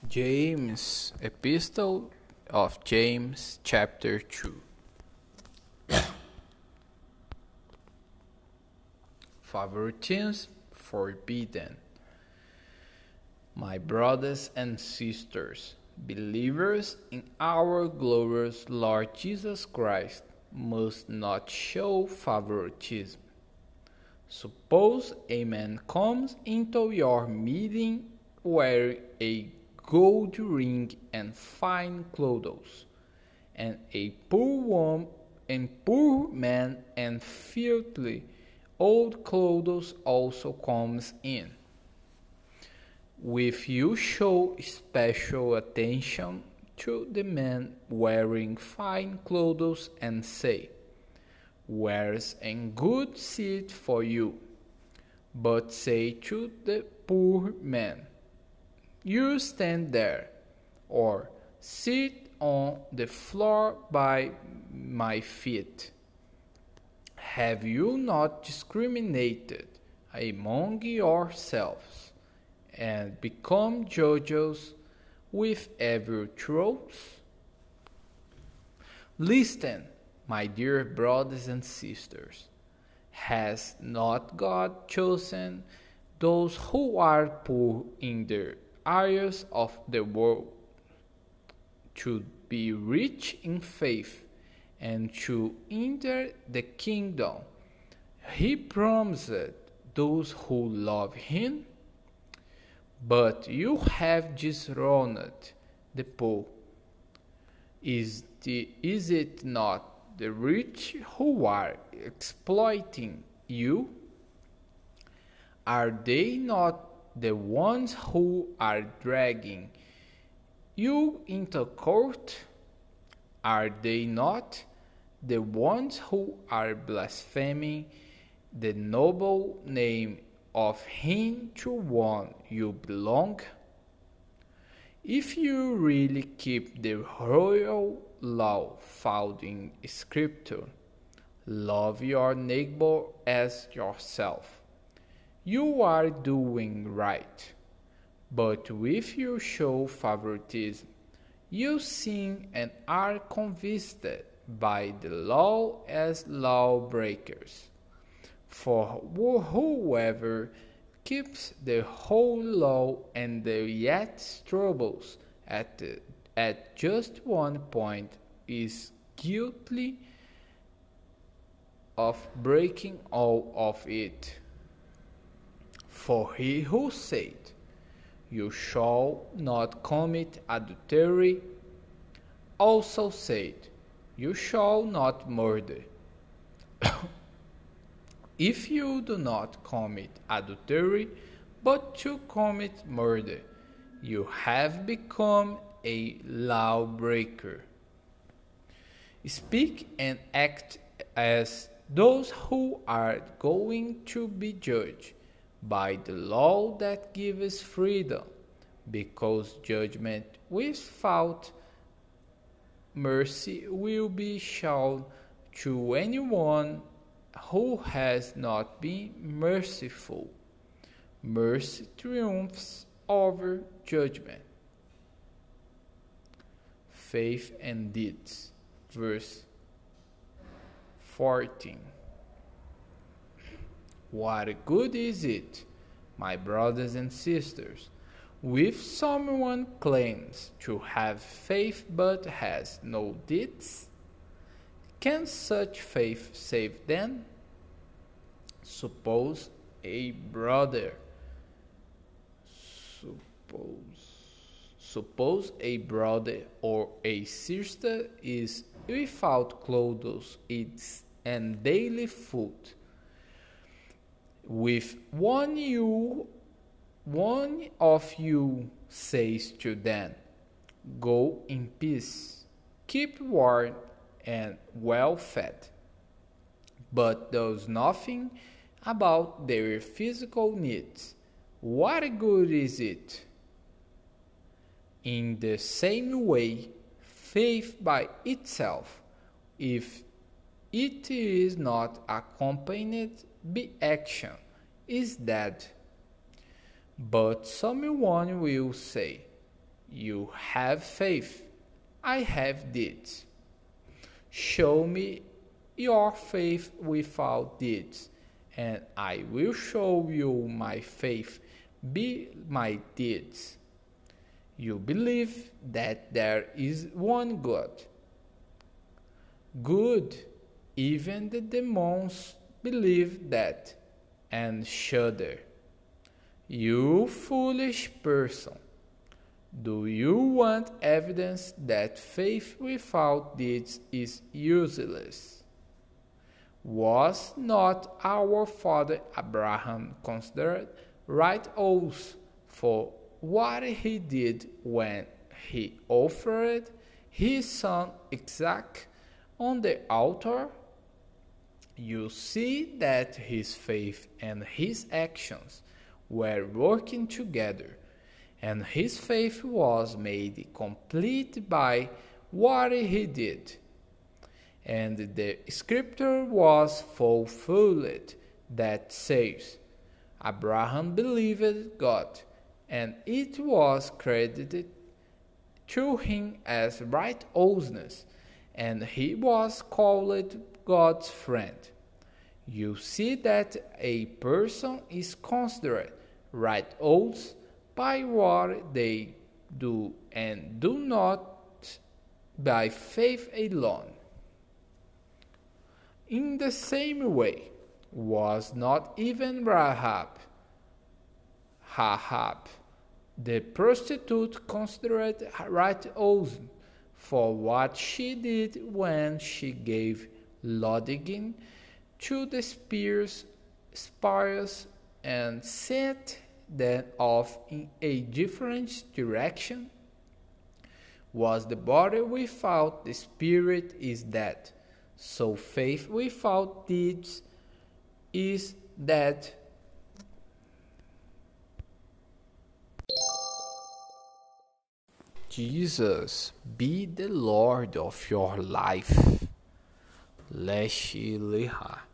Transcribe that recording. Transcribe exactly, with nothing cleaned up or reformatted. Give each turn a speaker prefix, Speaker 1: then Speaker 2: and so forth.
Speaker 1: James, Epistle of James, chapter two. Favoritism forbidden. My brothers and sisters, believers in our glorious Lord Jesus Christ, must not show favoritism. Suppose a man comes into your meeting wearing a gold ring and fine clothes, and a poor woman and poor man and filthy old clothes also comes in. If you show special attention to the man wearing fine clothes and say, "Where's a good seat for you?" but say to the poor man, "You stand there," or "Sit on the floor by my feet," have you not discriminated among yourselves and become judges with evil truths? Listen, my dear brothers and sisters. Has not God chosen those who are poor in the areas of the world to be rich in faith and to enter the kingdom He promised those who love Him? But you have disowned the poor. Is, the, is it not the rich who are exploiting you? Are they not the ones who are dragging you into court? Are they not the ones who are blaspheming the noble name of Him to whom you belong? If you really keep the royal law found in Scripture, love your neighbor as yourself, you are doing right. But if you show favoritism, you sin and are convicted by the law as lawbreakers. For whoever keeps the whole law and yet struggles at, the, at just one point is guilty of breaking all of it. For he who said, "You shall not commit adultery," also said, "You shall not murder." If you do not commit adultery, but to commit murder, you have become a lawbreaker. Speak and act as those who are going to be judged by the law that gives freedom, because judgment without mercy will be shown to anyone who has not been merciful. Mercy triumphs over judgment. Faith and deeds. Verse fourteen. What good is it, my brothers and sisters, if someone claims to have faith but has no deeds? Can such faith save them? Suppose a brother suppose suppose a brother or a sister is without clothes and daily food. With one you one of you says to them, "Go in peace, keep warm and well fed," but does nothing about their physical needs, what good is it? In the same way, faith by itself, if it is not accompanied by action, is dead. But someone will say, You have faith. I have deeds. Show me your faith without deeds, and I will show you my faith by my deeds. You believe that there is one God. Good. Even the demons believe that and shudder. You foolish person. Do you want evidence that faith without deeds is useless? Was not our father Abraham considered righteous for what he did when he offered his son Isaac on the altar? You see that his faith and his actions were working together, and his faith was made complete by what he did. And the scripture was fulfilled that says, Abraham believed God, and it was credited to him as righteousness, and he was called God's friend. You see that a person is considered righteous by what they do, and do not by faith alone. In the same way, was not even Rahab, Rahab, the prostitute, considered righteous for what she did when she gave lodging to the spies, spies and sent them off in a different direction? Was the body without the spirit is dead, so faith without deeds is dead. Jesus be the Lord of your life. Leshe Leha.